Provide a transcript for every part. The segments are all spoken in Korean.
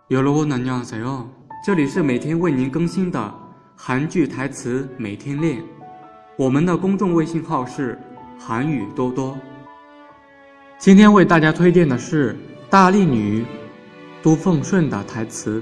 여러분 안녕하세요，这里是每天为您更新的韩剧台词每天练，我们的公众微信号是韩语多多。今天为大家推荐的是大力女都奉顺的台词。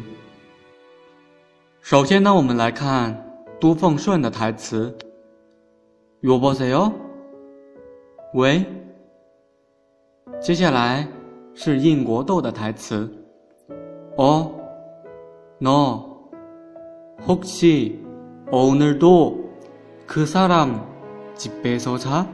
首先呢，我们来看都奉顺的台词。여보세요？喂。接下来是印国豆的台词。너 혹시 오늘도 그 사람 집에서 자?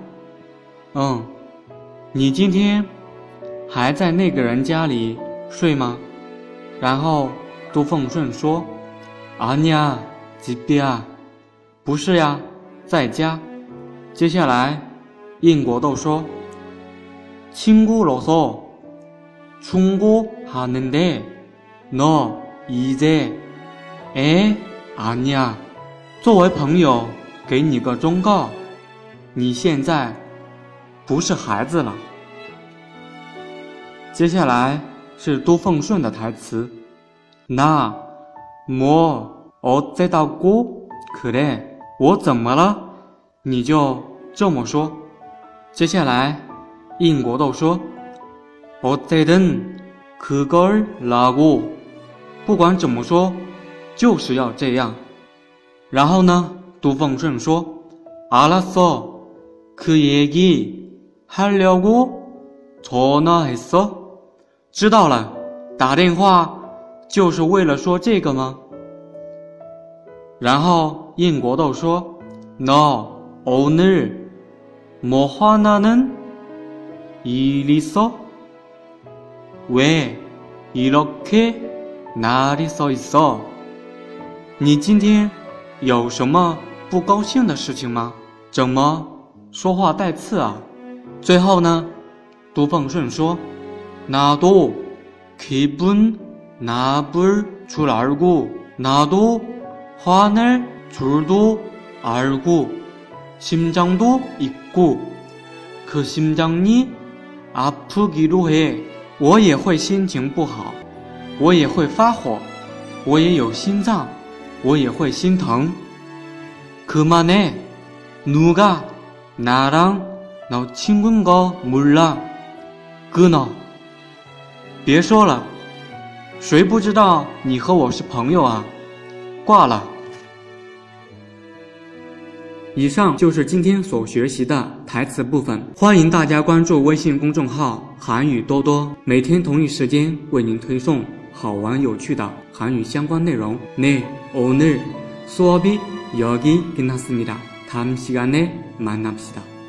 你今天还在那个人家里睡吗？然后都奉顺说 아니야 집이야， 不是呀，在家。接下来印国豆说 친구로서 충고하는데 너 이제 애 아니야， 作为朋友给你个忠告，你现在不是孩子了。接下来是都奉顺的台词。나 뭐 어쩌다고 그래， 我怎么了你就这么说。接下来印国豆说 어쨌든 그걸 라고， 不管怎么说就是要这样。然后呢，都奉顺说 알았어 그 얘기 하려고 전화했어， 知道了，打电话就是为了说这个吗？然后印国豆说 너 오늘 뭐 화나는 일 있어？ 왜 이렇게 날이 서 있어？ 你今天有什么不高兴的事情吗？怎么说话带刺啊？最后呢，都奉顺说 나도 기분 나쁠 줄 알고 나도 화낼 줄도 알고 심장도 있고 그 심장이 아프기로 해， 我也会心情不好，我也会发火，我也有心脏，我也会心疼。그만해 누가 나랑 너 친구인 거 몰라 끊어， 别说了，谁不知道你和我是朋友啊？挂了。以上就是今天所学习的台词部分，欢迎大家关注微信公众号韩语多多，每天同一时间为您推送好玩有趣的韩语相关内容。네 오늘 수업이 여기 끝났습니다. 다음 시간에 만납시다.